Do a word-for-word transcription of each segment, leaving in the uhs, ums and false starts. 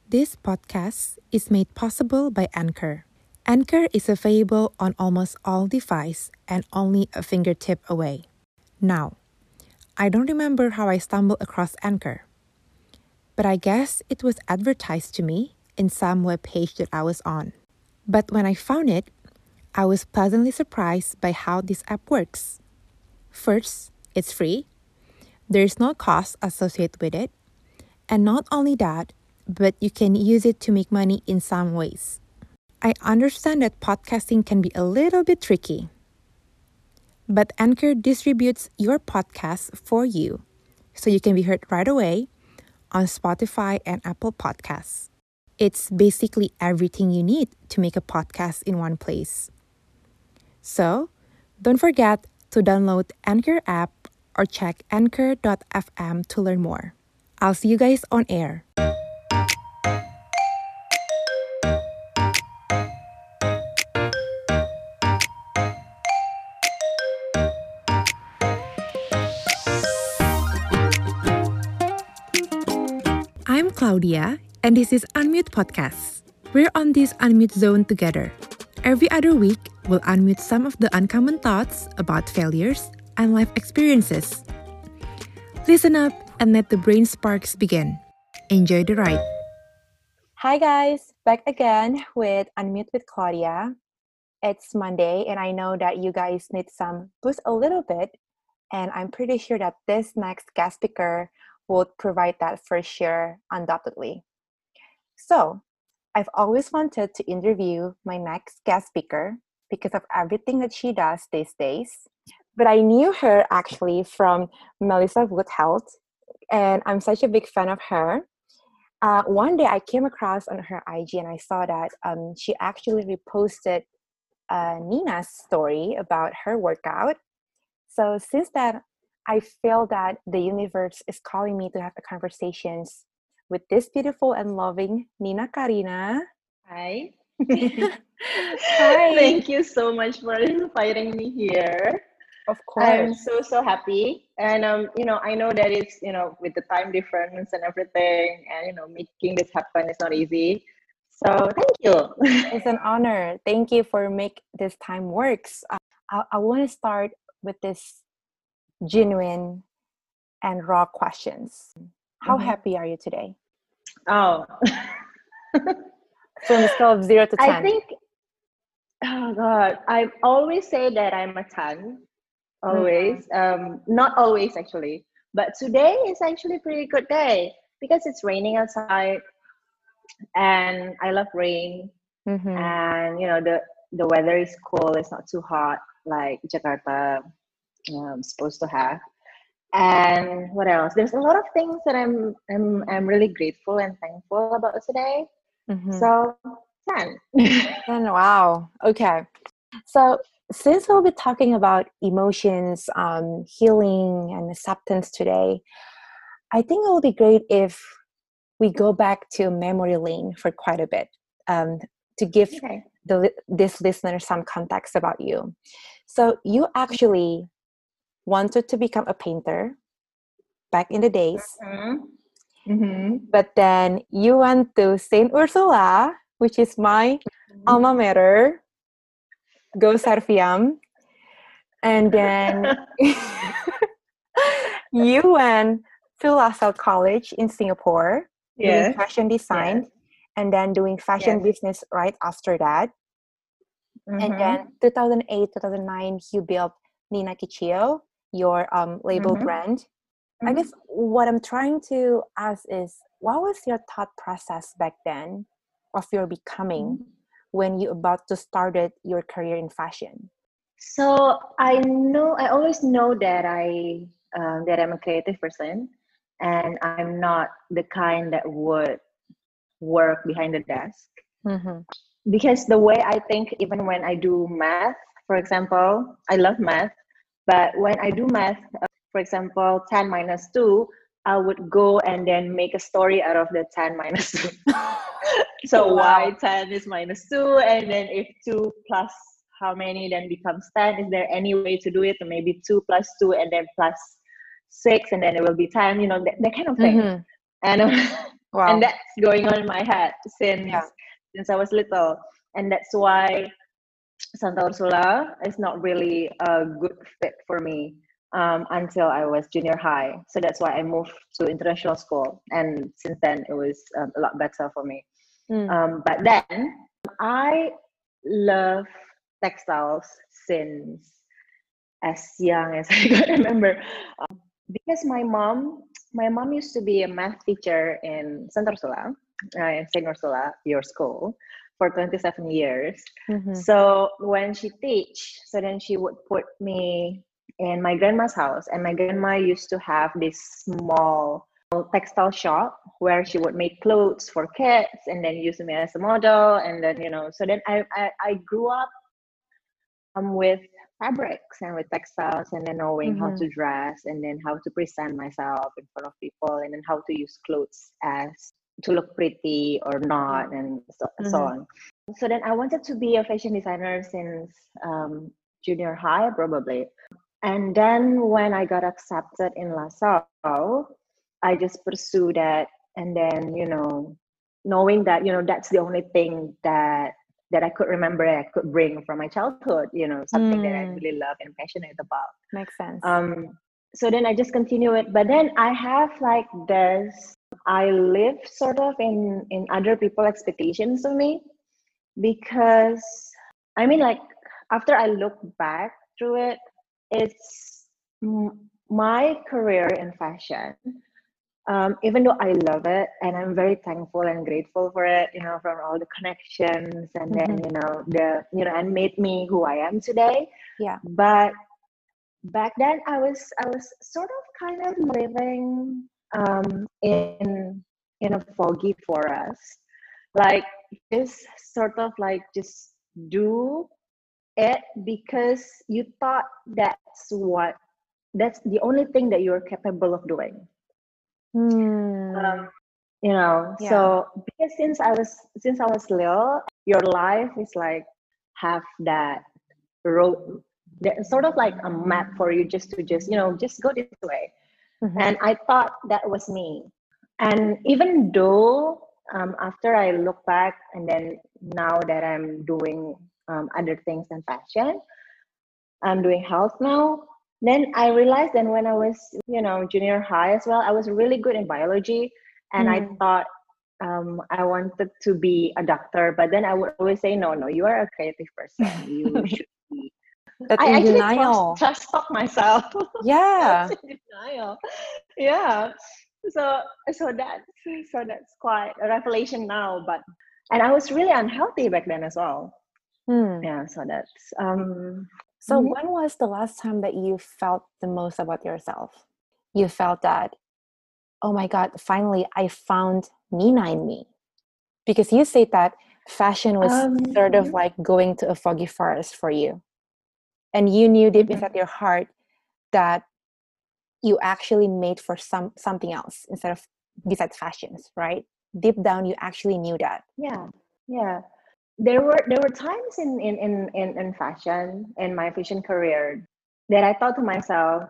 This podcast is made possible by Anchor. Anchor is available on almost all devices and only a fingertip away. Now, I don't remember how I stumbled across Anchor, but I guess it was advertised to me in some web page that I was on. But when I found it, I was pleasantly surprised by how this app works. First, it's free. There's no cost associated with it. And not only that, but you can use it to make money in some ways. I understand that podcasting can be a little bit tricky, but Anchor distributes your podcast for you so you can be heard right away on Spotify and Apple Podcasts. It's basically everything you need to make a podcast in one place. So, don't forget to download Anchor app or check anchor dot f m to learn more. I'll see you guys on air. I'm Claudia, and this is Unmute Podcast. We're on this Unmute zone together. Every other week, we'll unmute some of the uncommon thoughts about failures and life experiences. Listen up and let the brain sparks begin. Enjoy the ride. Hi guys, back again with Unmute with Claudia. It's Monday, and I know that you guys need some boost a little bit, and I'm pretty sure that this next guest speaker would provide that for sure, undoubtedly. So, I've always wanted to interview my next guest speaker because of everything that she does these days. But I knew her actually from Melissa Wood Health, and I'm such a big fan of her. Uh, one day I came across on her I G and I saw that um, she actually reposted uh, Nina's story about her workout. So since that, I feel that the universe is calling me to have a conversations with this beautiful and loving Nina Karina. Hi. Hi. Thank you so much for inviting me here. Of course. I'm so, so happy. And, um, you know, I know that it's, you know, with the time difference and everything, and, you know, making this happen is not easy. So thank you. It's an honor. Thank you for make this time works. Uh, I, I want to start with this genuine and raw questions. How Mhm. happy are you today? Oh. From a scale of zero to ten. I think, oh God, I always say that I'm a ten. Always. Mm-hmm. Um, not always, actually. But today is actually a pretty good day because it's raining outside and I love rain. Mm-hmm. And, you know, the, the weather is cool. It's not too hot like Jakarta um, supposed to have. And what else? There's a lot of things that I'm I'm I'm really grateful and thankful about today. Mm-hmm. So ten. ten, wow. Okay. So since we'll be talking about emotions, um, healing, and acceptance today, I think it will be great if we go back to memory lane for quite a bit um, to give okay. the this listener some context about you. So you actually wanted to become a painter back in the days. Mm-hmm. Mm-hmm. But then you went to Saint Ursula, which is my mm-hmm. alma mater, Go Serviam. And then you went to La Salle College in Singapore, yes. doing fashion design, yes. and then doing fashion yes. business right after that. Mm-hmm. And then two thousand eight, two thousand nine, you built Nina Kichio, your um, label mm-hmm. brand. Mm-hmm. I guess what I'm trying to ask is, what was your thought process back then of your becoming mm-hmm. when you about to started your career in fashion? So I know, I always know that I um, that I'm a creative person, and I'm not the kind that would work behind the desk. Mm-hmm. Because the way I think, even when I do math, for example, I love math, but when I do math, uh, for example, ten minus two, I would go and then make a story out of the ten minus two. So wow. Why ten is minus two, and then if two plus how many then becomes ten? Is there any way to do it? Or maybe two plus two and then plus six, and then it will be ten, you know, that, that kind of thing. Mm-hmm. And um, And Wow. that's going on in my head since Yeah. since I was little. And that's why Santa Ursula is not really a good fit for me um, until I was junior high. So that's why I moved to international school. And since then, it was um, a lot better for me. Mm. Um, but then I love textiles since as young as I can remember. Um, because my mom, my mom used to be a math teacher in Santa Ursula, uh, in Saint Ursula, your school, for twenty-seven years. Mm-hmm. So when she teach, so then she would put me in my grandma's house, and my grandma used to have this small textile shop where she would make clothes for kids and then use me as a model. And then, you know, so then I, I, I grew up um, with fabrics and with textiles, and then knowing how Mm-hmm. to dress and then how to present myself in front of people, and then how to use clothes as to look pretty or Yeah. not, and so, so Mm-hmm. on. So then I wanted to be a fashion designer since um, junior high, probably. And then when I got accepted in LaSalle, I just pursued that. And then, you know, knowing that, you know, that's the only thing that that I could remember, I could bring from my childhood, you know, something that I Mm. really love and passionate about. Makes sense. Um, so then I just continue it. But then I have like this, I live sort of in, in other people expectations of me, because I mean, like, after I look back through it, it's m- my career in fashion. Um, even though I love it and I'm very thankful and grateful for it, you know, from all the connections, and then, Mm-hmm. you know, the, you know, and made me who I am today. Yeah. But back then I was, I was sort of kind of living um, in, in a foggy forest. Like, just sort of like just do it because you thought that's what, that's the only thing that you're capable of doing. Um, Mm. you know, Yeah. so because since I was since I was little, your life is like have that road, that sort of like a map for you, just to just, you know, just go this way. Mm-hmm. And I thought that was me. And even though um, after I look back, and then now that I'm doing um, other things than fashion, I'm doing health now. Then I realized that when I was, you know, junior high as well, I was really good in biology, and I Mm. thought um, I wanted to be a doctor. But then I would always say, no, no, you are a creative person. You should be. That I in actually trust denial. trust talk myself. I was Yeah. in denial. Yeah. So so that's so that's quite a revelation now. But and I was really unhealthy back then as well. Hmm. Yeah. So that's um. So when was the last time that you felt the most about yourself? You felt that, oh my God, finally I found Nina in me. Because you said that fashion was Um. sort of Mhm, like going to a foggy forest for you. And you knew deep mhm. inside your heart that you actually made for some something else instead of besides fashions, right? Deep down you actually knew that. Yeah. Yeah. There were there were times in in in in, in fashion in my fashion career that I thought to myself,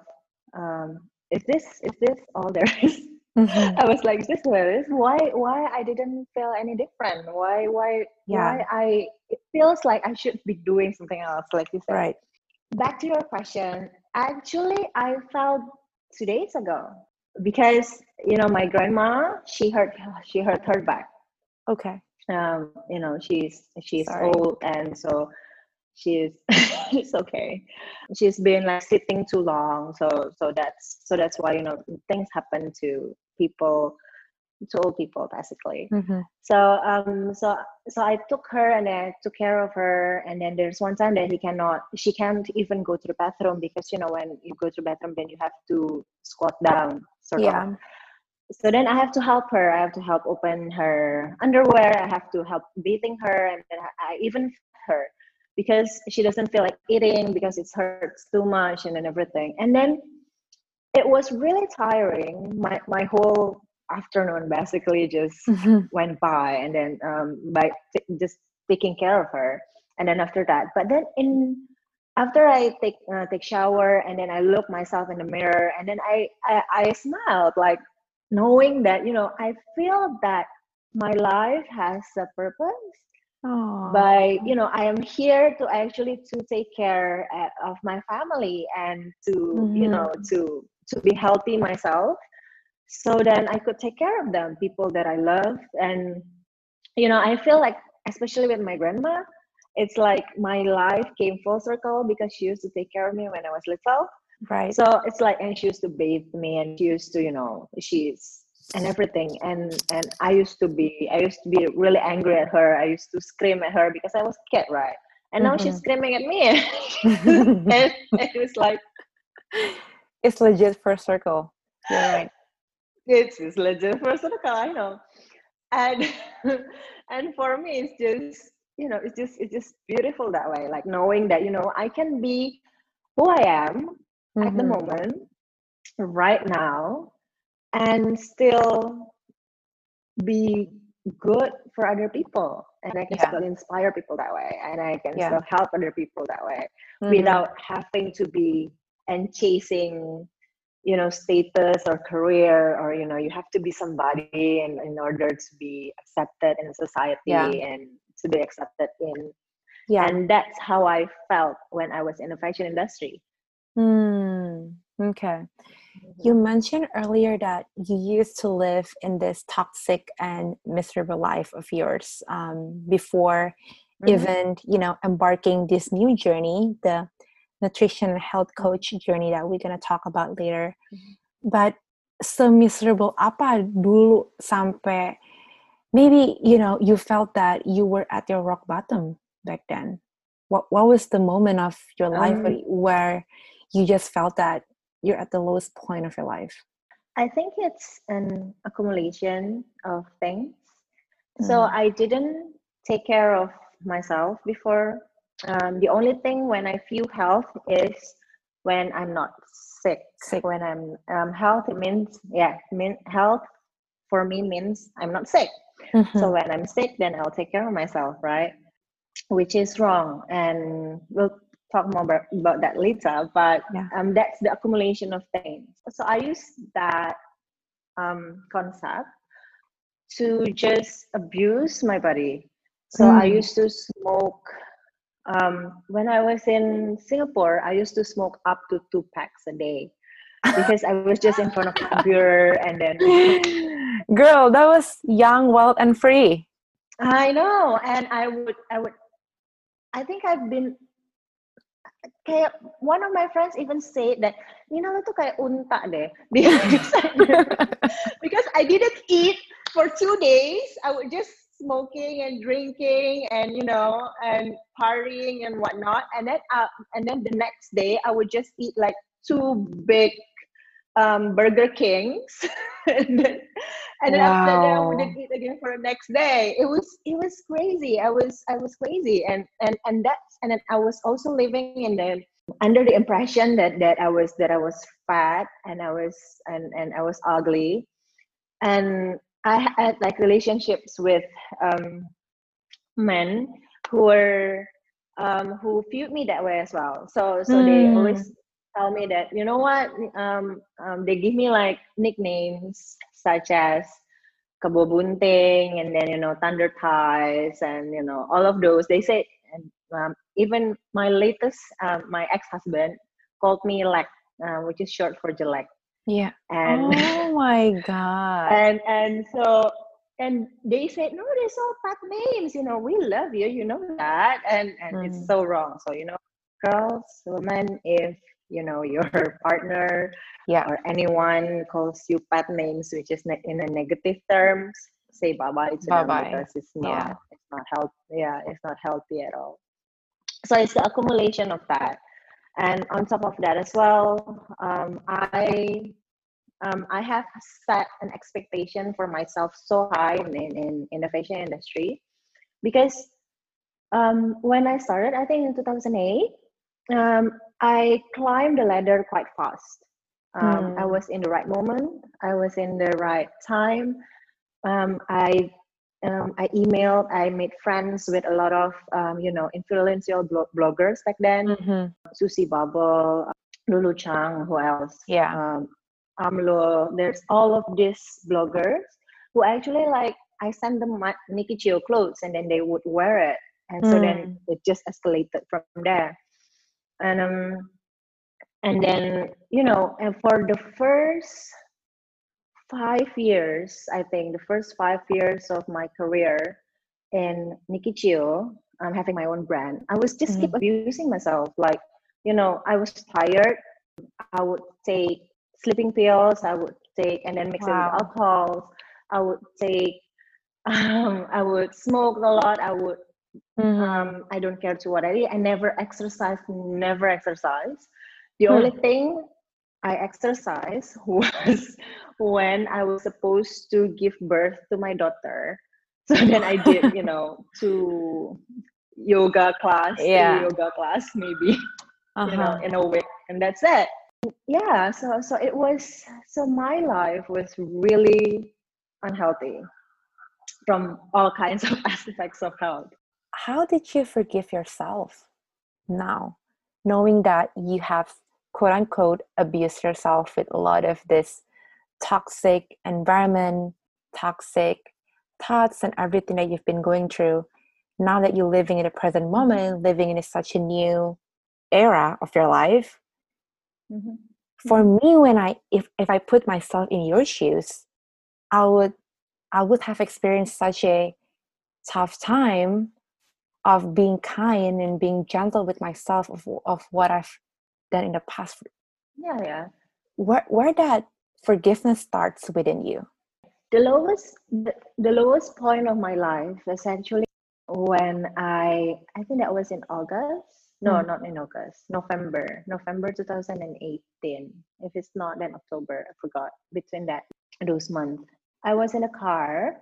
um, is this is this all there is? Mm-hmm. I was like, is this what it is? Why why I didn't feel any different? Why why Yeah, why I it feels like I should be doing something else, like you said. right. Back to your question, actually I felt two days ago, because you know my grandma, she hurt she hurt her back. Okay. Um, you know, she's she's Sorry. old, and so she's it's okay. She's been like sitting too long, so so that's so that's why, you know, things happen to people, to old people basically. Mm-hmm. So um so so I took her and I took care of her, and then there's one time that he cannot she can't even go to the bathroom, because you know when you go to the bathroom then you have to squat down, sort of. Yeah. So then I have to help her. I have to help open her underwear. I have to help bathing her, and then I even feed her because she doesn't feel like eating because it hurts too much, and then everything. And then it was really tiring. My my whole afternoon basically just Mm-hmm. went by, and then um, by t- just taking care of her. And then after that, but then in after I take uh, take shower, and then I look myself in the mirror, and then I I, I smiled like knowing that, you know, I feel that my life has a purpose Oh. by, you know, I am here to actually to take care uh, of my family and to, mm-hmm. you know, to to be healthy myself, so then I could take care of them, people that I love. And you know, I feel like, especially with my grandma, it's like my life came full circle because she used to take care of me when I was little. Right. So it's like, and she used to bathe me, and she used to, you know, she's and everything. And and I used to be, I used to be really angry at her. I used to scream at her because I was a kid, right? And now mm-hmm. she's screaming at me, and it was like, it's legit first circle. You're right. It's, it's legit first circle. I know. And and for me, it's just, you know, it's just it's just beautiful that way. Like knowing that, you know, I can be who I am mm-hmm. at the moment, right now, and still be good for other people, and I can yeah. still inspire people that way, and I can yeah. still help other people that way, mm-hmm. without having to be and chasing, you know, status or career, or, you know, you have to be somebody in, in order to be accepted in society yeah. and to be accepted in. Yeah. And that's how I felt when I was in the fashion industry. Hmm. Okay. Mm-hmm. You mentioned earlier that you used to live in this toxic and miserable life of yours um, before mm-hmm. even, you know, embarking this new journey, the nutrition and health coach journey that we're going to talk about later. Mm-hmm. But se-miserable apa dulu sampai maybe, you know, you felt that you were at your rock bottom back then? What what was the moment of your life um, where you just felt that you're at the lowest point of your life? I think it's an accumulation of things. Mm. So I didn't take care of myself before. Um, the only thing when I feel health is when I'm not sick. Sick. When I'm um, health, it means, yeah, mean, health for me means I'm not sick. Mm-hmm. So when I'm sick, then I'll take care of myself, right? Which is wrong. And we'll talk more about, about that later. But yeah. um, that's the accumulation of things. So I use that um, concept to just abuse my body. So mm. I used to smoke. Um, when I was in Singapore, I used to smoke up to two packs a day because I was just in front of the computer, and then girl, that was young, wild, and free. I know, and I would, I would, I think I've been. Kayak one of my friends even said that, you know, itu kayak unta deh, because I, because I didn't eat for two days. I would just smoking and drinking and, you know, and partying and whatnot, and then uh, and then the next day I would just eat like two big um, Burger Kings, and then and then wow. after that I wouldn't eat again for the next day. It was it was crazy. I was I was crazy, and and and that's and then I was also living in the under the impression that that I was that I was fat and I was and and I was ugly, and I had like relationships with um, men who were um, who viewed me that way as well. So so mm. they always tell me that, you know what, um, um, they give me like nicknames such as Kebo Bunting, and then, you know, Thunder Thighs, and, you know, all of those. They say, and um, even my latest, um, my ex-husband called me Lek, uh, which is short for Jelek. Yeah. And oh my God. And and so and they said, no, they're so fat names. You know, we love you. You know that, and and mm. it's so wrong. So, you know, girls, women, if you know your partner yeah. or anyone calls you fat names, which is ne- in a negative terms, say bye bye to bye-bye. them, because it's not yeah. it's not healthy. Yeah, it's not healthy at all. So it's the accumulation of that, and on top of that as well, um, I um, I have set an expectation for myself so high in in, in the fashion industry, because um, when I started, I think in two thousand eight. Um, I climbed the ladder quite fast. Um, mm. I was in the right moment. I was in the right time. Um, I um, I emailed. I made friends with a lot of um, you know, influential blog- bloggers back then. Mm-hmm. Susie Bubble, Lulu Chang. Who else? Yeah. Um, AMLO. There's all of these bloggers who actually like, I send them my Nikki Chio clothes and then they would wear it. And so then Mm. it just escalated from there. And um and then, you know, and for the first five years, I think the first five years of my career in Nikki Chio, I'm having my own brand. I was just keep Mm. abusing myself. Like, you know, I was tired. I would take sleeping pills. I would take and then mix it with Wow. alcohol. I would take. Um, I would smoke a lot. I would. Mm-hmm. Um, I don't care to what I eat. I never exercise. Never exercise. The Hmm. only thing I exercised was when I was supposed to give birth to my daughter. So then I did, you know, two yoga class, three Yeah. yoga class, maybe, you know, Uh-huh. in a week, and that's it. Yeah. So so it was. So my life was really unhealthy from all kinds of aspects of health. How did you forgive yourself now, knowing that you have quote unquote abused yourself with a lot of this toxic environment, toxic thoughts, and everything that you've been going through? Now that you're living in the present Mm-hmm. moment, living in such a new era of your life, Mm-hmm. for me, when I if if I put myself in your shoes, I would I would have experienced such a tough time of being kind and being gentle with myself of, of what I've done in the past. Yeah, yeah. Where where that forgiveness starts within you. The lowest, the, the lowest point of my life is actually when I, I think that was in August. No, Mm. not in August. November, November two thousand eighteen. If it's not, then October. I forgot. Between that those months, I was in a car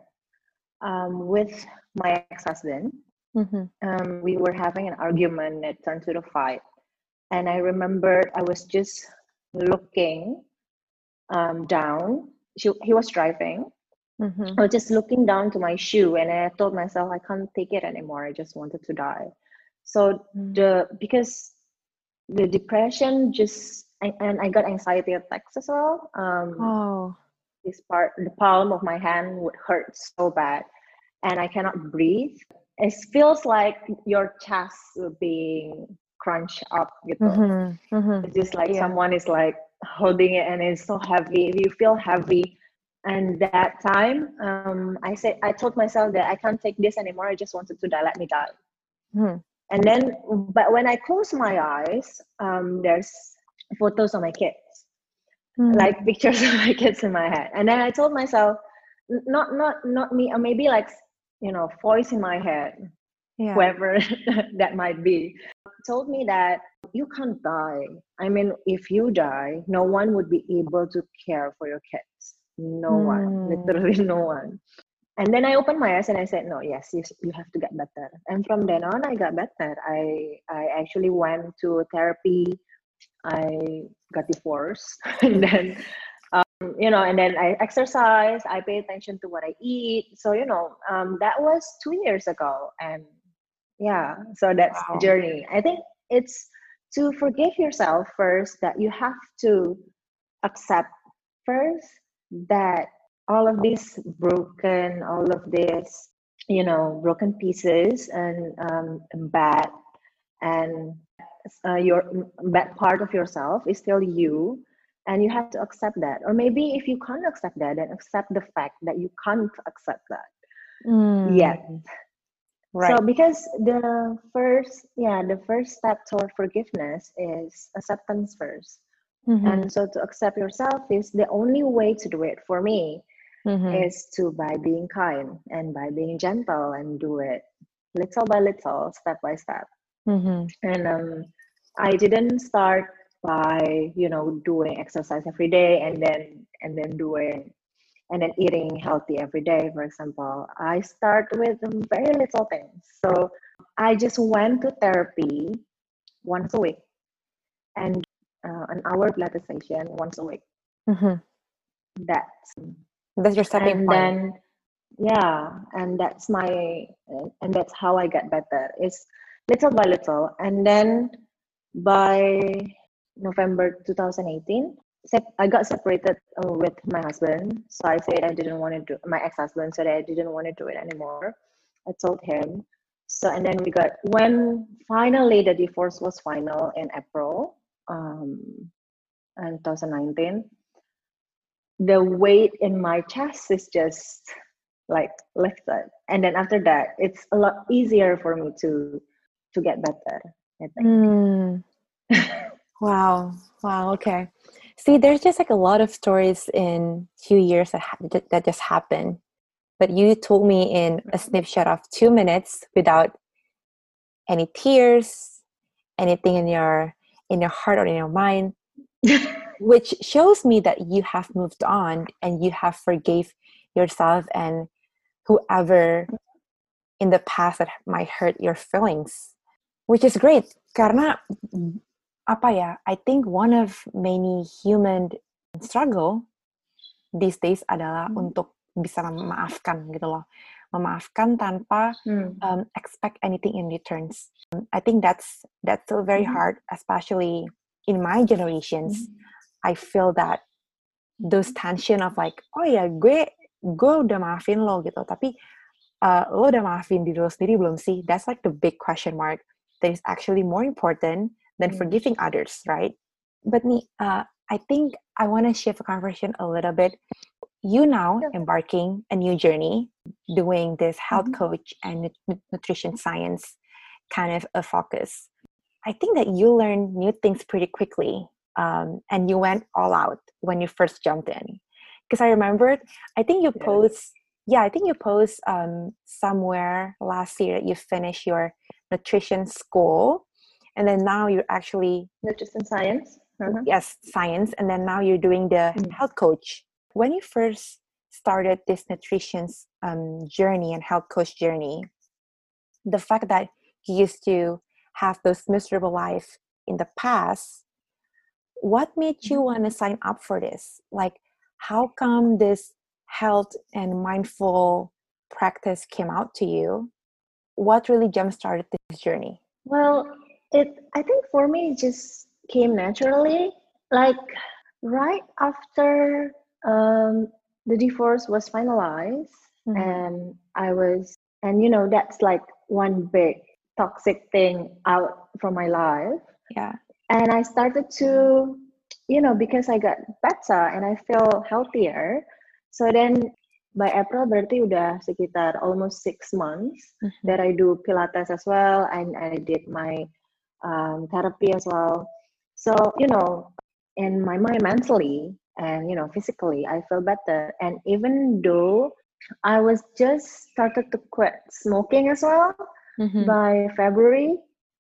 um, with my ex-husband. Mm-hmm. Um, we were having an argument that turned to the fight, and I remembered I was just looking um, down. She, he was driving. Mm-hmm. I was just looking down to my shoe, and I told myself I can't take it anymore. I just wanted to die. So the because the depression just and, and I got anxiety attacks as well. Um, Oh. this part, the palm of my hand would hurt so bad, and I cannot breathe. It feels like your chest being crunched up, gitu. Mm-hmm. Mm-hmm. It's just like Yeah. someone is like holding it, and it's so heavy. You feel heavy. And that time, um, I said, I told myself that I can't take this anymore. I just wanted to die. Let me die. Mm-hmm. And then, but when I close my eyes, um, there's photos of my kids, like pictures of my kids in my head. And then I told myself, not, not, not me, or maybe like, you know, voice in my head, Yeah. whoever that might be, told me that you can't die. I mean, if you die, no one would be able to care for your kids. No one, Mm. literally no one. And then I opened my eyes and I said, no, yes, you, you have to get better. And from then on, I got better. I, I actually went to therapy. I got divorced. And then, um, you know, and then I exercise. I pay attention to what I eat. So, you know, um, that was two years ago. And yeah, so that's the Wow. journey. I think it's to forgive yourself first, that you have to accept first that all of these broken, all of this, you know, broken pieces and um, bad and uh, your bad part of yourself is still you, and you have to accept that. Or maybe if you can't accept that, then accept the fact that you can't accept that Mm. yet. Right. So because the first, yeah, the first step toward forgiveness is acceptance first. Mm-hmm. And so to accept yourself is the only way to do it for me, Mm-hmm. is to by being kind and by being gentle and do it little by little, step by step. Mm-hmm. And um, I didn't start by, you know, doing exercise every day and then and then doing and then eating healthy every day, for example. I start with very little things. So I just went to therapy once a week and uh, an hour Pilates session once a week. Mm-hmm. That's That's your stepping and point. then yeah, and that's my and that's how I get better. It's little by little, and then by November two thousand eighteen, sep- I got separated uh, with my husband. So I said I didn't want to do my ex-husband said I didn't want to do it anymore. I told him. So and then we got when finally the divorce was final in April, um, in twenty nineteen. The weight in my chest is just like lifted, and then after that, it's a lot easier for me to to get better. I think. Mm. Wow. Wow. Okay. See, there's just like a lot of stories in few years that ha- that that just happened. But you told me in a snapshot of two minutes without any tears, anything in your in your heart or in your mind, which shows me that you have moved on and you have forgave yourself and whoever in the past that might hurt your feelings, which is great. Karena apa ya? I think one of many human struggle these days adalah Hmm. untuk bisa memaafkan gitu loh. Memaafkan tanpa Hmm. um, expect anything in returns. I think that's that's still very Mhm. hard, especially in my generations. Mhm. I feel that those tension of like, oh ya gue gue udah maafin lo gitu, tapi uh, lo udah maafin diri lo sendiri belum sih? That's like the big question mark that is actually more important than Hmm. forgiving others, right? But nih, uh, I think I want to shift the conversation a little bit. You now Yeah. embarking a new journey, doing this health Mhm. coach and nut- nutrition science kind of a focus. I think that you learn new things pretty quickly, um, and you went all out when you first jumped in. Because I remembered, I think you Yes. post, yeah, I think you post um, somewhere last year that you finished your nutrition school, and then now you're actually Nutrition science. Uh-huh. yes, science, and then now you're doing the Mm. health coach. When you first started this nutrition um, journey and health coach journey, the fact that you used to have those miserable life in the past, what made you want to sign up for this? Like, how come this health and mindful practice came out to you? What really jump-started this journey? Well, it I think for me it just came naturally. Like right after um, the divorce was finalized, Mhm. and I was, and you know, that's like one big toxic thing out from my life. Yeah. And I started to, you know, because I got better and I feel healthier. So then by April berarti udah sekitar almost six months Mhm. that I do Pilates as well, and I did my um, therapy as well. So, you know, in my mind mentally and, you know, physically, I feel better. And even though I was just started to quit smoking as well Mhm. by February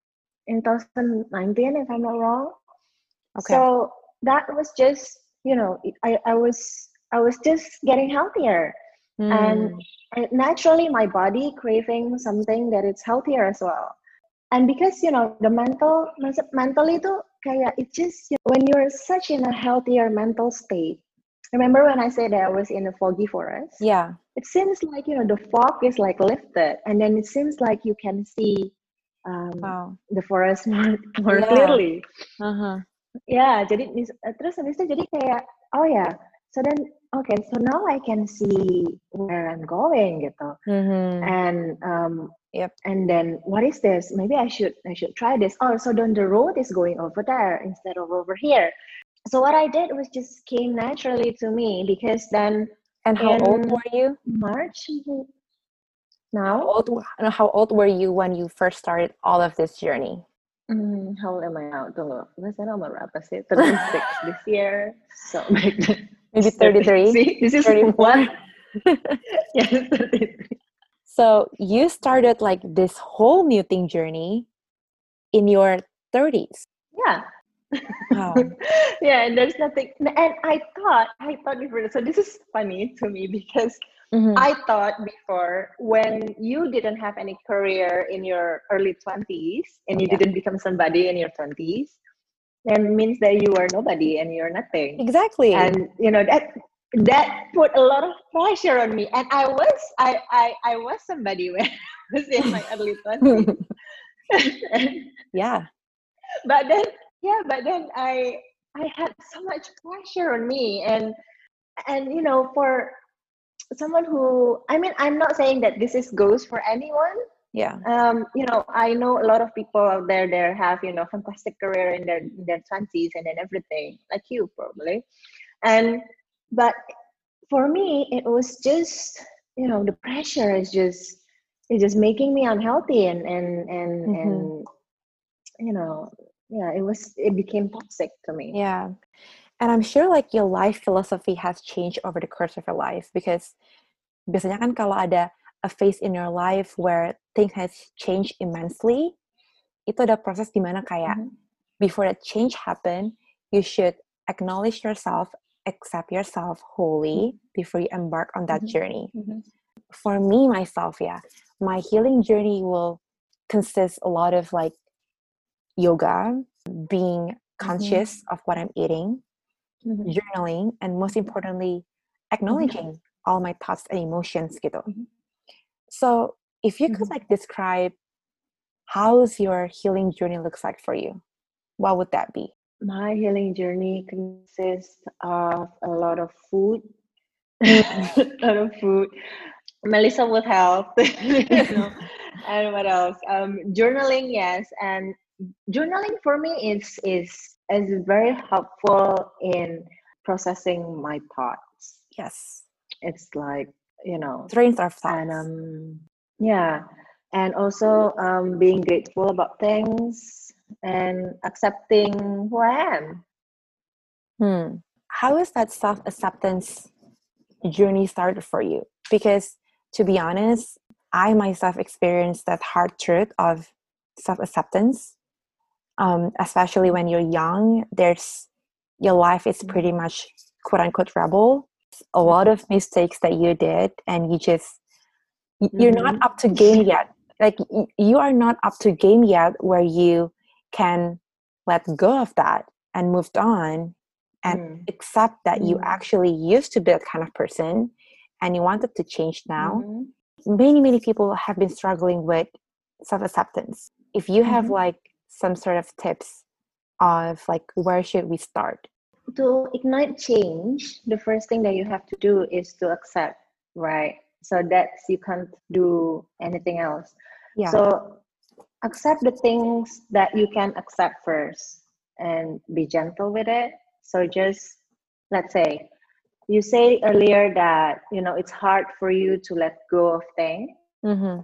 in twenty nineteen, if I'm not wrong. Okay. So that was just, you know, I, I was I was just getting healthier. And, Mm. and naturally my body craving something that is healthier as well. And because, you know, the mental mentally too kayak it just, you know, when you're such in a healthier mental state. Remember when I said that I was in a foggy forest? Yeah. It seems like, you know, the fog is like lifted, and then it seems like you can see um, Wow. the forest more, more Yeah. clearly. Uh-huh. Ya, jadi mis- terus habis itu jadi kayak oh ya, so then okay, so now I can see where I'm going gitu. Mhm. And um, Yep. and then what is this? Maybe I should I should try this. Oh, so then the road is going over there instead of over here. So what I did was just came naturally to me because then And how old in were you? March How now, old? no, How old were you when you first started all of this journey? hmm, how old am I now? Tunggu, saya nomor berapa sih? thirty-six this year. So back then, Maybe thirty-three, see, this is thirty-four. one. Yes, thirty-three. So you started like this whole new thing journey in your thirties. Yeah. Wow. Yeah, and there's nothing. And I thought, I thought before. So this is funny to me because Mhm. I thought before when you didn't have any career in your early twenties and you Yeah. didn't become somebody in your twenties, then means that you are nobody and you're nothing. Exactly. And you know that that put a lot of pressure on me. And I was I I, I was somebody when I was in my early twenties. Yeah. But then yeah, but then I I had so much pressure on me, and and you know, for someone who, I mean, I'm not saying that this is goes for anyone. Yeah. Um, you know, I know a lot of people out there that have, you know, fantastic career in their in their twenties and then everything, like you probably. And but for me, it was just, you know, the pressure is just is just making me unhealthy, and and and Mm-hmm. and you know, yeah, it was it became toxic to me. Yeah. And I'm sure like your life philosophy has changed over the course of your life, because biasanya kan kalau ada a phase in your life where things has changed immensely, itu ada proses di mana kayak Mhm. before that change happen, you should acknowledge yourself, accept yourself wholly before you embark on that Mhm. journey. Mhm. For me, myself, yeah, my healing journey will consist a lot of like yoga, being conscious of what I'm eating, Mhm. journaling, and most importantly, acknowledging all my thoughts and emotions gitu. Mhm. So if you could Mhm. like describe how's your healing journey looks like for you, what would that be? My healing journey consists of a lot of food, a lot of food. Melissa would help, you know, and what else? Um, journaling, yes, and journaling for me is is is very helpful in processing my thoughts. Yes. It's like, you know, Trains our and thoughts. um, yeah, and also um, being grateful about things and accepting who I am. Hmm. How is that self-acceptance journey started for you? Because to be honest, I myself experienced that hard truth of self-acceptance, um, especially when you're young. There's your life is pretty much quote unquote rebel. A lot of mistakes that you did, and you just you're not Mm-hmm. up to game yet. Like you are not up to game yet where you can let go of that and moved on and Mm. accept that you Mm. actually used to be that kind of person and you wanted to change now. Mm-hmm. Many, many people have been struggling with self-acceptance. If you have Mm-hmm. like some sort of tips of like where should we start? To ignite change, the first thing that you have to do is to accept, right? So that's you can't do anything else. Yeah. So accept the things that you can accept first and be gentle with it. So just let's say you say earlier that you know it's hard for you to let go of things, Mm-hmm.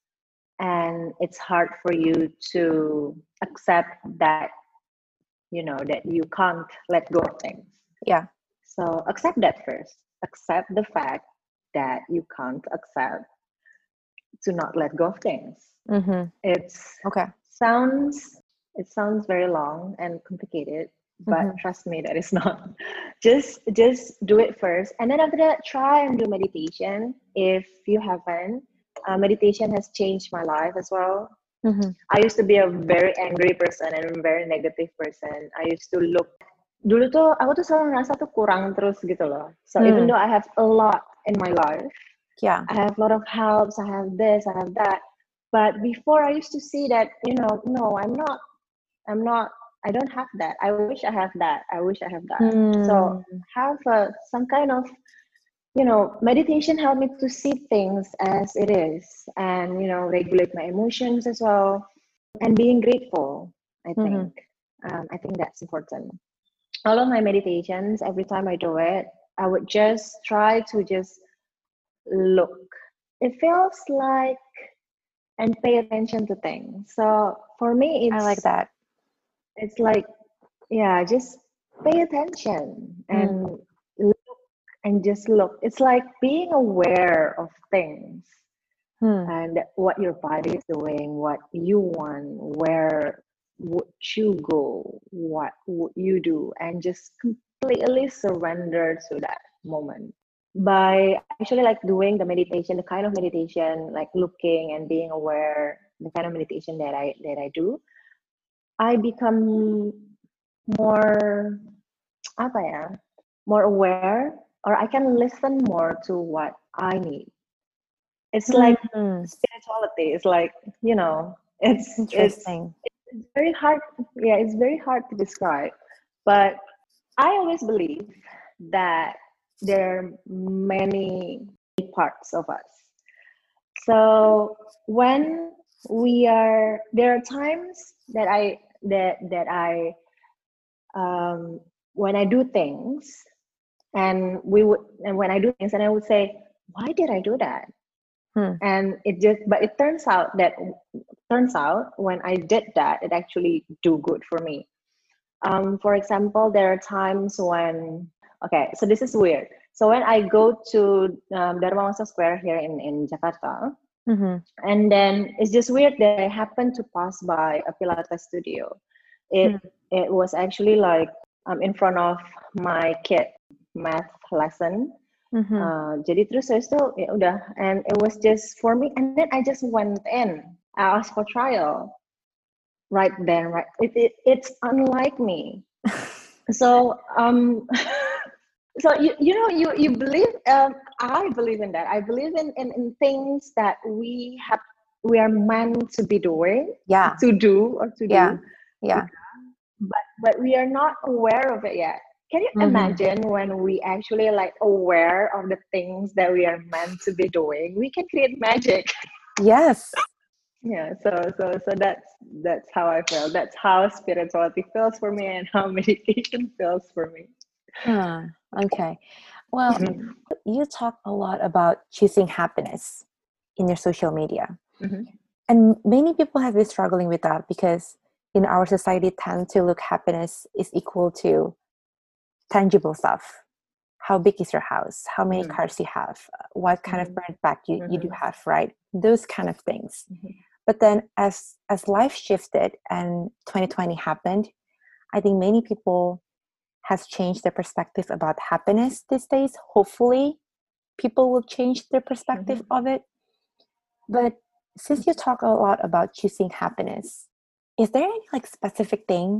and it's hard for you to accept that you know that you can't let go of things. Yeah. So accept that first. Accept the fact that you can't accept to not let go of things. Mm-hmm. It's Okay. sounds it sounds very long and complicated, but Mm-hmm. trust me, that is not. just just do it first, and then after that, try and do meditation if you haven't. Uh, meditation has changed my life as well. Mm-hmm. I used to be a very angry person and a very negative person. I used to look dulu tuh aku tuh selalu ngerasa tuh kurang terus gitu loh. So even Mm. though I have a lot in my life, Yeah. I have a lot of helps, I have this, I have that. But before I used to see that, you know, no, I'm not, I'm not, I don't have that. I wish I have that. I wish I have that. So Mm. have a, some kind of, you know, meditation helped me to see things as it is and, you know, regulate my emotions as well and being grateful, I Mm-hmm. think. Um, I think that's important. All of my meditations, every time I do it, I would just try to just look. It feels like and pay attention to things. So for me, I like it's that. it's like yeah, just pay attention Mm. and look and just look. It's like being aware of things Hmm. and what your body is doing, what you want, where would you go, what would you do, and just completely surrender to that moment. By actually like doing the meditation, the kind of meditation, like looking and being aware, the kind of meditation that I that I do, I become more apa ya, more aware, or I can listen more to what I need. It's like Mm. spirituality. It's like you know, it's it's Interesting. it's very hard. Yeah, it's very hard to describe, but I always believe that there are many parts of us. So when we are, there are times that I that that I um, when I do things, and we would, and when I do things, and I would say, why did I do that? Hmm. And it just, but it turns out that turns out when I did that, it actually do good for me. Um, for example, there are times when, okay, so this is weird. So when I go to um, Dharma Wangsa Square here in, in Jakarta, Mm-hmm. and then it's just weird that I happened to pass by a Pilates studio. It Hmm. it was actually like um, in front of my kid math lesson. Mm-hmm. Uh, jadi terus saya itu ya udah, and it was just for me, and then I just went in. I asked for trial right then, right. It, it it's unlike me. So um, so you you know you you believe. Um, I believe in that. I believe in, in in things that we have we are meant to be doing, Yeah. to do or to Yeah. do, Yeah. but but we are not aware of it yet. Can you Mm-hmm. imagine when we actually like aware of the things that we are meant to be doing? We can create magic. Yes. Yeah, so so so that's that's how I feel. That's how spirituality feels for me, and how meditation feels for me. Huh. Okay. Well, you talk a lot about choosing happiness in your social media. Mm-hmm. And many people have been struggling with that because in our society tend to look happiness is equal to tangible stuff. How big is your house? How many Mm-hmm. cars you have? What kind Mm-hmm. of brand bag you, you do Mm-hmm. have, right? Those kind of things. Mm-hmm. But then as as life shifted and twenty twenty happened, I think many people has changed their perspective about happiness these days. Hopefully people will change their perspective Mm-hmm. of it. But since you talk a lot about choosing happiness, is there any like specific thing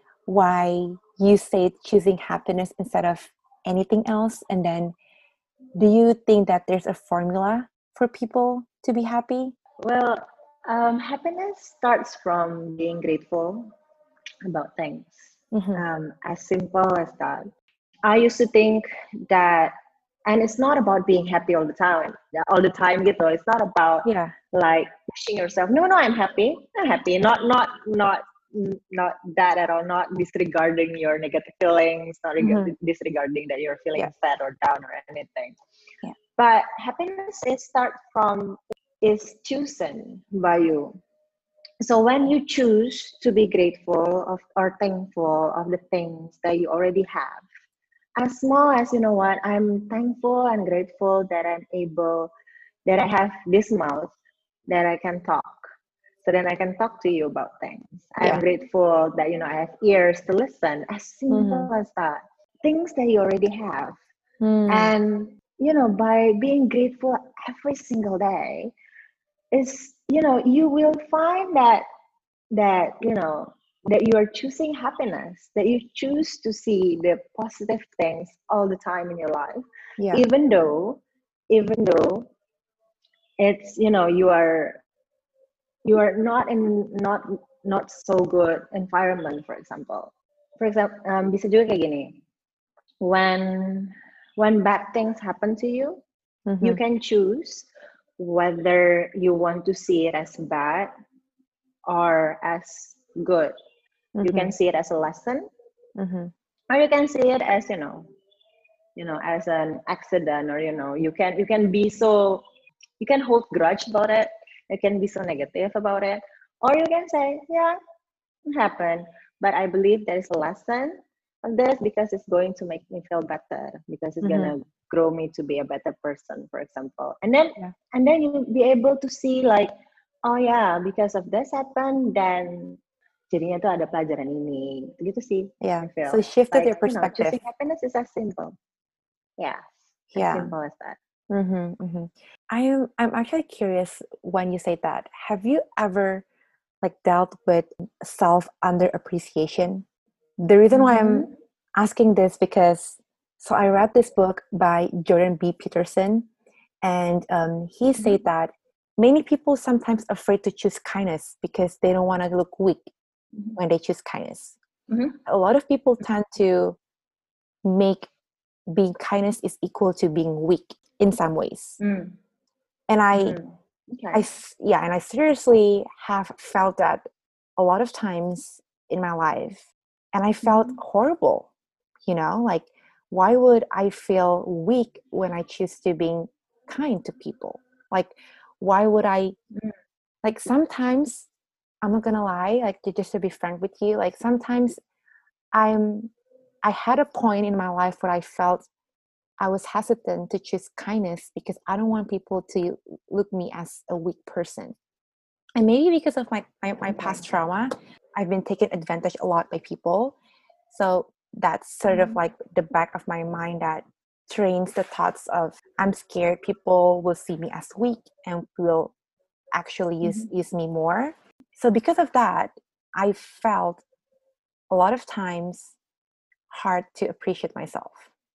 why you say choosing happiness instead of anything else? And then do you think that there's a formula for people to be happy? Well, um, happiness starts from being grateful about things. Mm-hmm. Um, as simple as that. I used to think that, and it's not about being happy all the time, all the time gitu. It's not about Yeah. like pushing yourself. No, no, I'm happy. I'm happy. Not, not, not, not that at all. Not disregarding your negative feelings. Not Mm-hmm. disregarding that you're feeling Yeah. sad or down or anything. Yeah. But happiness is start from is chosen by you. So when you choose to be grateful of or thankful of the things that you already have, as small as, you know what, I'm thankful and grateful that I'm able, that I have this mouth, that I can talk, so then I can talk to you about things. I'm Yeah. grateful that, you know, I have ears to listen. As simple Mm-hmm. as that. Things that you already have. Mm. And, you know, by being grateful every single day, is, you know, you will find that that you know that you are choosing happiness, that you choose to see the positive things all the time in your life, Yeah. even though even though it's, you know, you are you are not in not not so good environment. For example, for example um, bisa juga kayak gini, when when bad things happen to you, you Mm-hmm. can choose whether you want to see it as bad or as good. You Mm-hmm. can see it as a lesson, Mm-hmm. or you can see it as, you know, you know, as an accident, or, you know, you can you can be so, you can hold grudge about it, you can be so negative about it, or you can say, yeah, it happened, but I believe there is a lesson of this, because it's going to make me feel better, because it's Mm-hmm. gonna grow me to be a better person, for example. And then Yeah. and then you'll be able to see like, oh yeah, because of this happened, then jadinya tuh ada pelajaran ini, gitu sih. Yeah. I feel So it shifted like, your you know, perspective. choosing happiness is as simple. Yeah, as Yeah. simple as that. Mm-hmm. Mm-hmm. I'm I'm actually curious when you say that. Have you ever like dealt with self under appreciation? The reason why I'm Mm-hmm. asking this because so I read this book by Jordan B. Peterson, and um, he Mm-hmm. said that many people sometimes afraid to choose kindness because they don't want to look weak Mm-hmm. when they choose kindness. Mm-hmm. A lot of people tend to make being kindness is equal to being weak in some ways. Mm. And I, Mm. Okay. I, yeah, and I seriously have felt that a lot of times in my life, and I felt Mhm. horrible, you know, like, why would I feel weak when I choose to being kind to people? Like, why would I, Mm. like, sometimes, I'm not gonna lie, like, to just to be frank with you, like, sometimes I'm, I had a point in my life where I felt I was hesitant to choose kindness because I don't want people to look me as a weak person. And maybe because of my, my, my past trauma, I've been taken advantage a lot by people. So that's sort of Mhm. like the back of my mind that trains the thoughts of, I'm scared people will see me as weak and will actually use, Mhm. use me more. So because of that, I felt a lot of times hard to appreciate myself,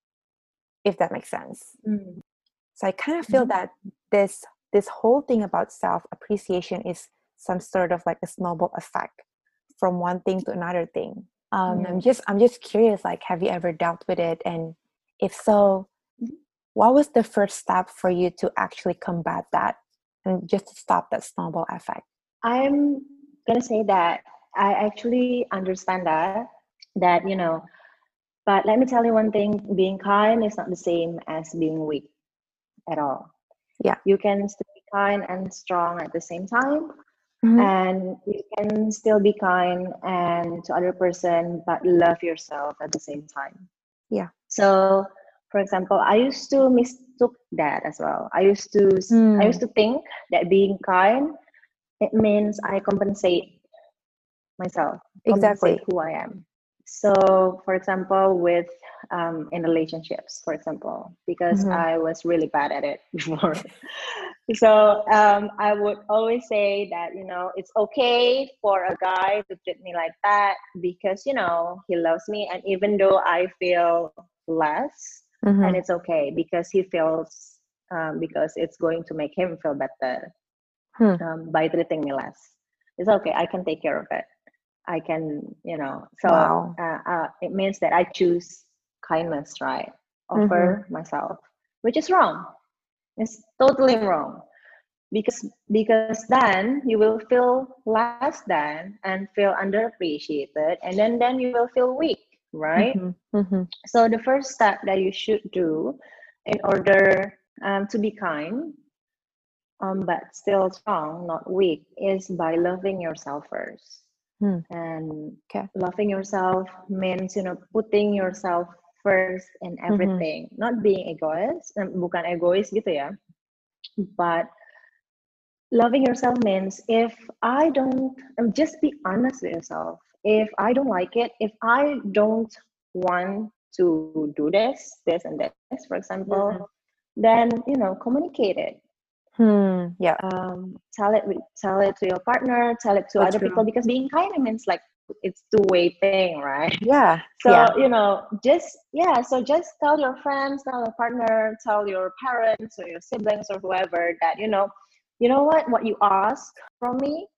if that makes sense. Mm. So I kind of feel Mhm. that this this whole thing about self-appreciation is some sort of like a snowball effect from one thing to another thing. Um, I'm Mm. just I'm just curious, like, have you ever dealt with it? And if so, Mhm. what was the first step for you to actually combat that and just to stop that snowball effect? I'm gonna say that I actually understand that that you know, but let me tell you one thing: being kind is not the same as being weak at all. Yeah. You can still be kind and strong at the same time, Mm-hmm. and you can still be kind and to other person, but love yourself at the same time. Yeah. So, for example, I used to mistook that as well. I used to I Mm. used to think that being kind it means I compensate myself, compensate Exactly. who I am. So, for example, with um, in relationships, for example, because Mm-hmm. I was really bad at it before. So um, I would always say that you know it's okay for a guy to treat me like that because you know he loves me, and even though I feel less, and Mm-hmm. it's okay because he feels um, because it's going to make him feel better Hmm. um, by treating me less. It's okay. I can take care of it. I can, you know. So Wow. uh, uh, it means that I choose kindness, right, Mm-hmm. over myself, which is wrong. It's totally wrong because because then you will feel less than and feel underappreciated, and then then you will feel weak, right? Mm-hmm. Mm-hmm. So the first step that you should do in order um, to be kind um, but still strong, not weak, is by loving yourself first. Hmm. And Okay. loving yourself means, you know, putting yourself first in Mm-hmm. everything. Not being egoist, bukan egois gitu ya. But loving yourself means if I don't, um, just be honest with yourself. If I don't like it, if I don't want to do this, this, and this, for example, Mm-hmm. then, you know, communicate it. Hmm. Yeah. Um, tell it with, tell it to your partner, tell it to So other people, true. because being kind means like it's two-way thing, right? Yeah. So Yeah. you know, just yeah, so just tell your friends, tell your partner, tell your parents or your siblings or whoever that you know, you know what, what you ask from me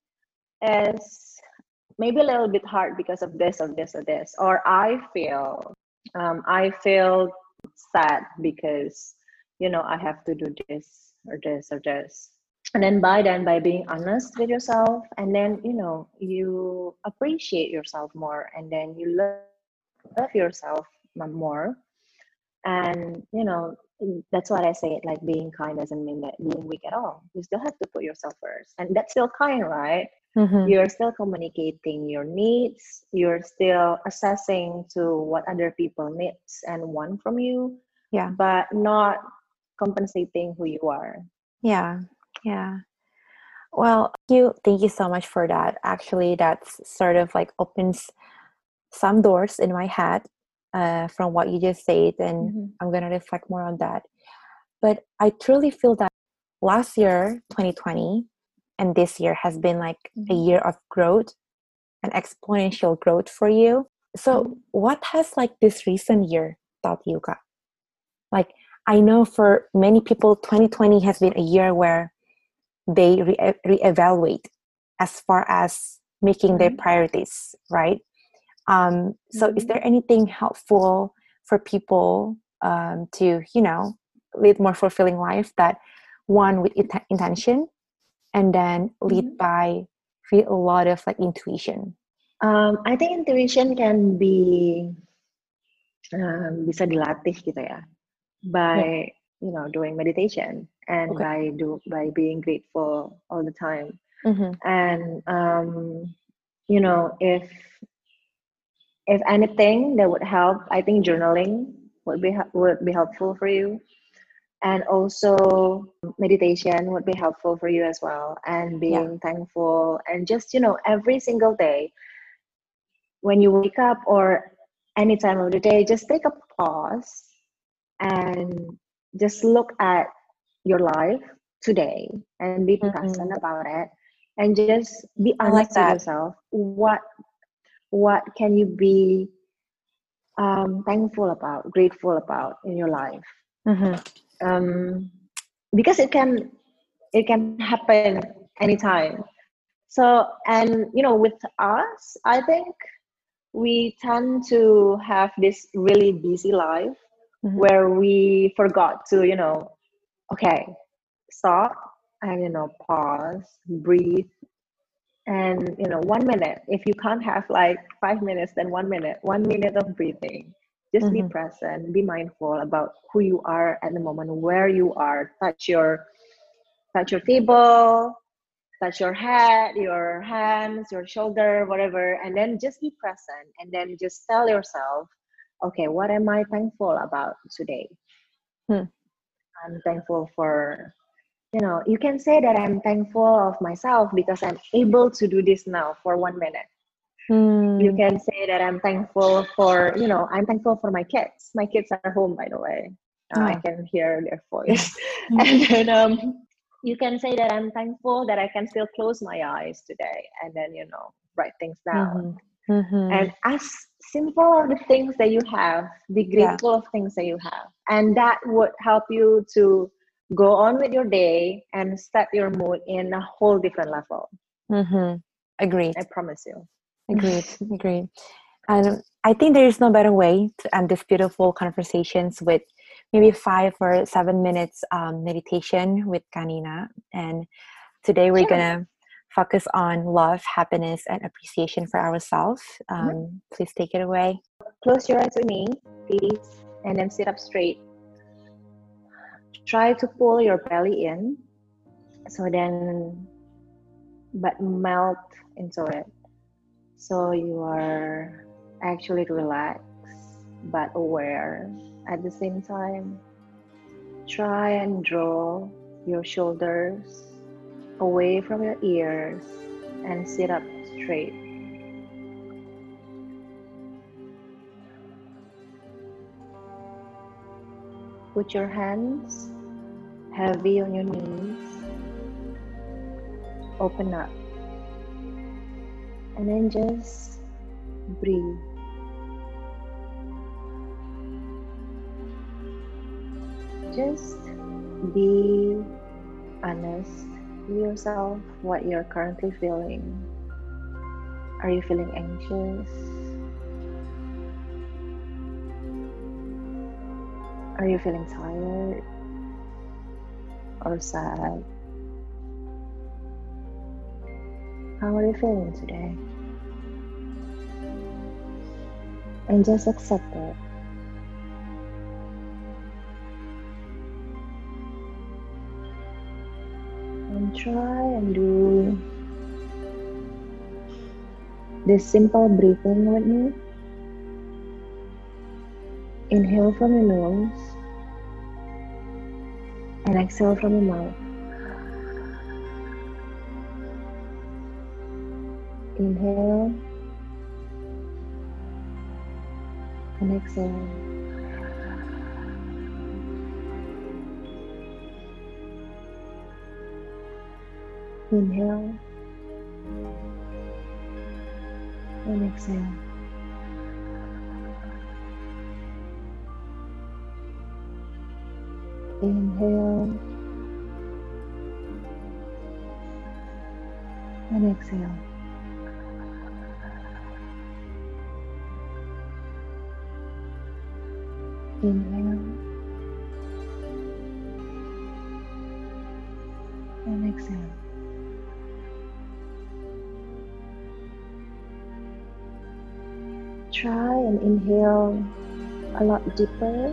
is maybe a little bit hard because of this or this or this, or I feel um, I feel sad because you know I have to do this or this or this. And then by then, by being honest with yourself, and then you know you appreciate yourself more, and then you love yourself more. And you know that's what I say. Like being kind doesn't mean that being weak at all. You still have to put yourself first, and that's still kind, right? Mm-hmm. You're still communicating your needs, you're still assessing to what other people needs and want from you, Yeah. but not compensating who you are. Yeah. Yeah. Well, thank you. Thank you so much for that. Actually, that's sort of like opens some doors in my head uh, from what you just said, and Mm-hmm. I'm gonna reflect more on that. But I truly feel that last year, twenty twenty, and this year has been like a Mm-hmm. year of growth and exponential growth for you. So, Mm-hmm. what has like this recent year taught you, Kak? Like, I know for many people, twenty twenty has been a year where they re- reevaluate as far as making their Mm-hmm. priorities, right? Um, so, is Mm-hmm. there anything helpful for people um, to, you know, lead more fulfilling life, that one with int- intention, and then lead Mhm. by with a lot of like intuition? Um, I think intuition can be um, bisa dilatih gitu ya, Yeah. by you know doing meditation and Okay. by do by being grateful all the time. Mm-hmm. And um, you know if if anything that would help, I think journaling would be hel- would be helpful for you, and also meditation would be helpful for you as well, and Yeah. being thankful, and just you know every single day when you wake up or any time of the day, just take a pause and just look at your life today and be present Mm-hmm. about it, and just be I like honest with that. yourself. what what can you be um, thankful about, grateful about in your life? Mm-hmm. um, because it can it can happen anytime. So, and you know with us, I think we tend to have this really busy life Mm-hmm. where we forgot to you know okay, stop, and you know pause, breathe, and you know one minute. If you can't have like five minutes, then one minute one minute of breathing. Just be Mm-hmm. present, be mindful about who you are at the moment, where you are. Touch your touch your table, touch your head, your hands, your shoulder, whatever, and then just be present, and then just tell yourself, okay, what am I thankful about today? Hmm. I'm thankful for, you know, you can say that I'm thankful of myself because I'm able to do this now for one minute. You Mm. can say that I'm thankful for, you know, I'm thankful for my kids. My kids are home, by the way. Uh, I Oh. can hear their voice. And then um, you can say that I'm thankful that I can still close my eyes today, and then, you know, write things down. Mm-hmm. Mm-hmm. And as simple of the things that you have, be Yeah. grateful of things that you have. And that would help you to go on with your day and set your mood in a whole different level. Mm-hmm. Agreed. I promise you. Agreed. Agreed. And I think there is no better way to end this beautiful conversations with maybe five or seven minutes um, meditation with Kanina. And today we're Sure. gonna focus on love, happiness, and appreciation for ourselves. Um, Mm-hmm. Please take it away. Close your eyes with me, please, and then sit up straight. Try to pull your belly in, so then, but melt into it. So you are actually relaxed but aware at the same time. Try and draw your shoulders away from your ears and sit up straight. Put your hands heavy on your knees. Open up. And then just breathe. Just be honest with yourself, what you're currently feeling. Are you feeling anxious? Are you feeling tired or sad? How are you feeling today? And just accept it. And try and do this simple breathing with me. Inhale from your nose and exhale from your mouth. Inhale and exhale. Inhale and exhale. Inhale and exhale. Inhale and exhale. Try and inhale a lot deeper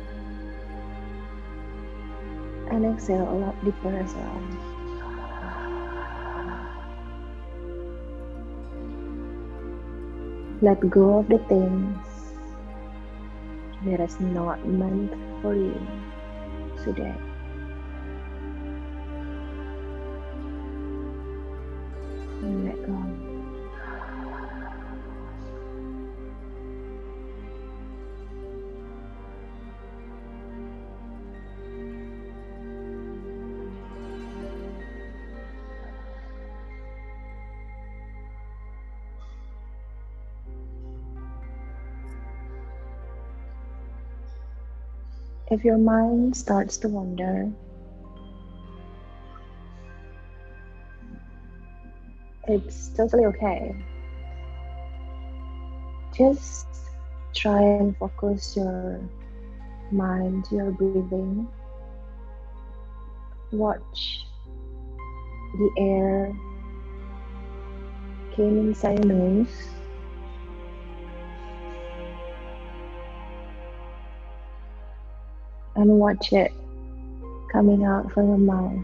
and exhale a lot deeper as well. Let go of the things that is not meant for you today. And let go. If your mind starts to wander, it's totally okay. Just try and focus your mind to your breathing. Watch the air came inside your nose and watch it coming out from your mouth.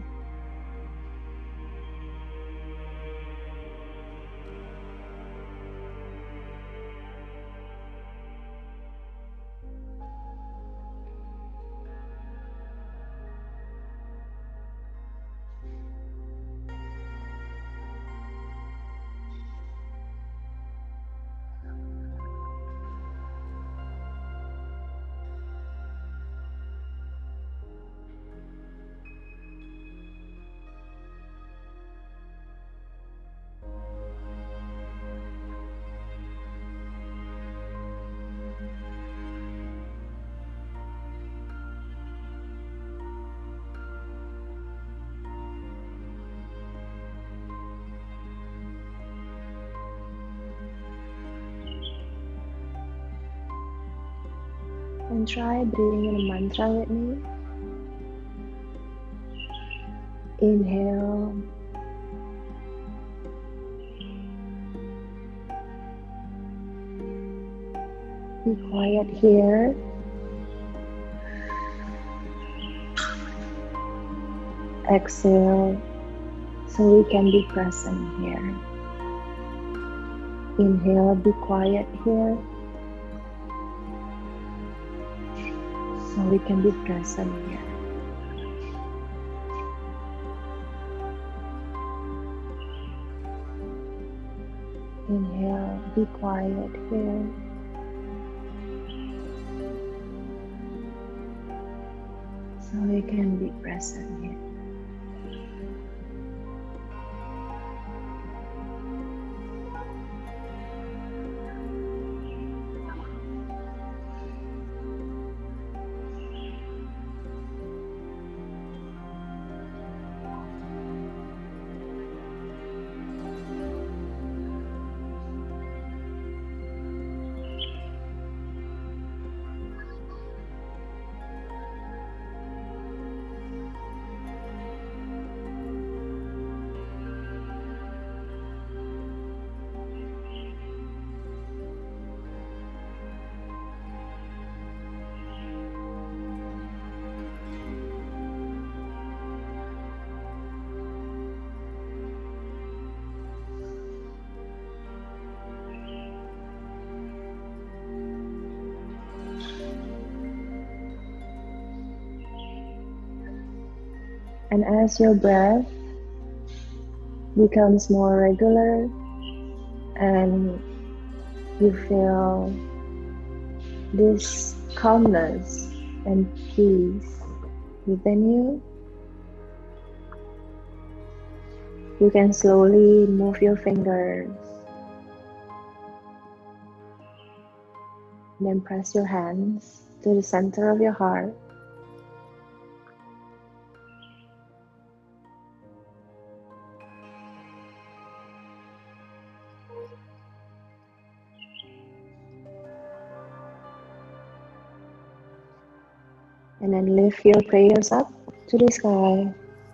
And try breathing in a mantra with me. Inhale. Be quiet here. Exhale, so we can be present here. Inhale, be quiet here, so we can be present here. Inhale, be quiet here. So we can be present here. And as your breath becomes more regular and you feel this calmness and peace within you, you can slowly move your fingers, then press your hands to the center of your heart. And then lift your prayers up to the sky.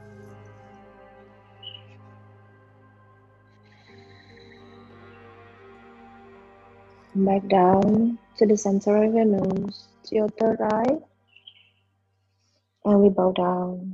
Back down to the center of your nose, to your third eye. And we bow down.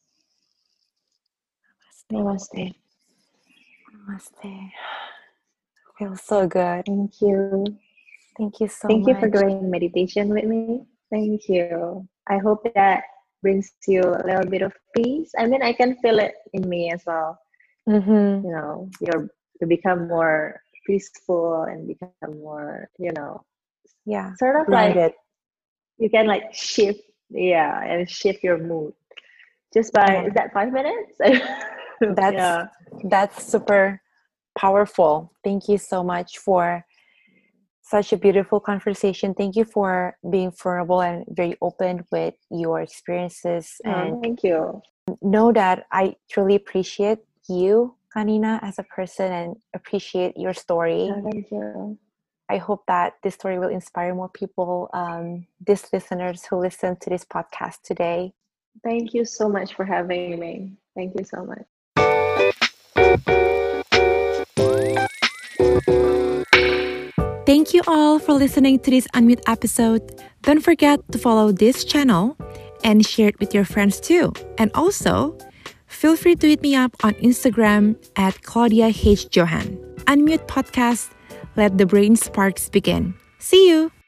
Namaste. Namaste. Feels so good. Thank you. Thank you so Thank much. you for doing meditation with me. Thank you. I hope that brings you a little bit of peace. I mean, I can feel it in me as well. Mm-hmm. You know, you're you become more peaceful and become more, you know, Yeah. sort of Grounded. like you can like shift, yeah, and shift your mood just by Yeah. is that five minutes? That's yeah. that's super powerful. Thank you so much for such a beautiful conversation. Thank you for being vulnerable and very open with your experiences. Oh, And thank you. know that I truly appreciate you, Kanina, as a person and appreciate your story. Oh, thank you. I hope that this story will inspire more people, um, these listeners who listen to this podcast today. Thank you so much for having me. Thank you so much. Thank you all for listening to this Unmute episode. Don't forget to follow this channel and share it with your friends too. And also, feel free to hit me up on Instagram at Claudia H. Johan. Unmute Podcast. Let the brain sparks begin. See you!